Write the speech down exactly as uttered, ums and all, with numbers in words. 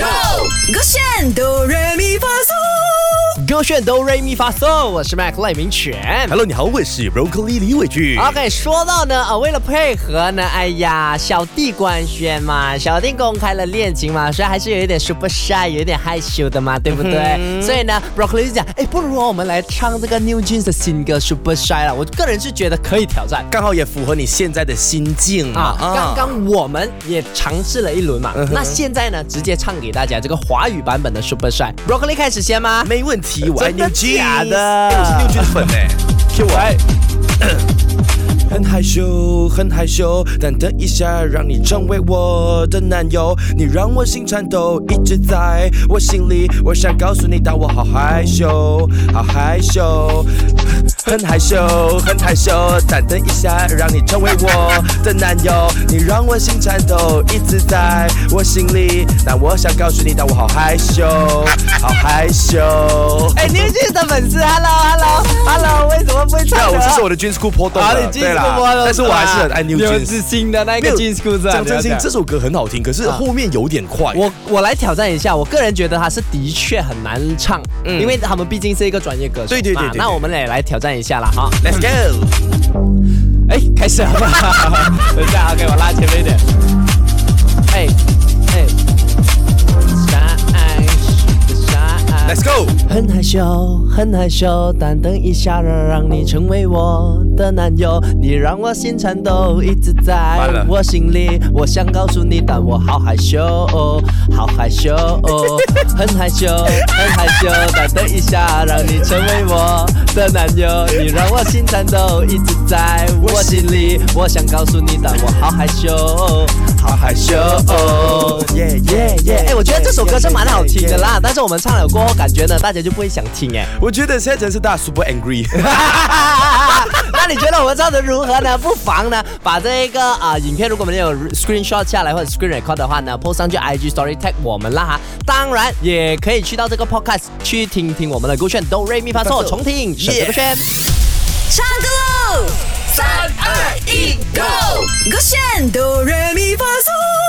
Go， 勾选哆来咪发嗦， 勾选哆来咪发嗦，我是 Mac 赖明全。 Hello， 你好，我是 Broccoli 李伟俊。 OK， 说到呢，呃，为了配合呢，哎呀，小弟官宣嘛，小弟公开了恋情嘛，所以还是有一点 super shy， 有一点害羞的嘛，对不对？嗯、所以呢 ，Broccoli 就讲，哎，不如我们来唱这个 New Jeans 的新歌 Super Shy 了。我个人是觉得可以挑战， 刚好也符合你现在的心境嘛。 啊，刚刚我们也尝试了一轮嘛，嗯、那现在呢，直接唱给大家这个华语版本的 Super Shy。Broccoli 开始先吗？ 没问题，我爱 New Jeans。 假的， 哎，我是 New Jeans 粉哎 ，Q 我爱。很害羞，很害羞，但等一下让你成为我的男友，你让我心颤抖，一直在我心里。我想告诉你，但我好害羞，好害羞，很害羞，很害羞，但等一下让你成为我的男友，你让我心颤抖，一直在我心里。但我想告诉你，但我好害羞，好害羞。 哎 ，New Jeans 的粉丝 ，Hello，Hello，Hello， 为什么不会唱歌？ 我这是我的 Jeans School 波动的，对啦。但是我还是很爱 New Jeans， 有自信的那个 Jeans School。 讲真心，这首歌很好听，可是后面有点快。 我我来挑战一下，我个人觉得它是的确很难唱，嗯、因为他们毕竟是一个专业歌手。 对对 对, 对, 对。 那我们也来挑战一下啦，好 ，Let's go。 哎，开始了吧？等一下 ，OK， 我拉前面一点。哎哎。 Let's go。 很害羞，很害羞，但等一下让你成为我的男友，你让我心颤抖，一直在我心里。我想告诉你，但我好害羞，哦、好害羞，哦、很害羞，很害羞，但等一下让你成为我的男友，你让我心颤抖，一直在我心里。我想告诉你，但我好害羞，哦、好害羞，哦、耶耶耶！哎，我觉得这首歌是蛮好听的啦，但是我们唱了过后，感觉呢，大家就不会想听哎。 我觉得现在真是大家 super angry。 那你觉得我们唱的如何呢？不妨呢，把这个啊、呃、影片，如果我们有 screenshot 下来或者 screen record 的话呢 ，post 上去 I G story tag 我们啦哈。当然也可以去到这个 podcast 去听听我们的勾选哆来咪发嗦重听选择勾选。 唱歌喽！三二一，Go！ 勾选哆来咪发嗦。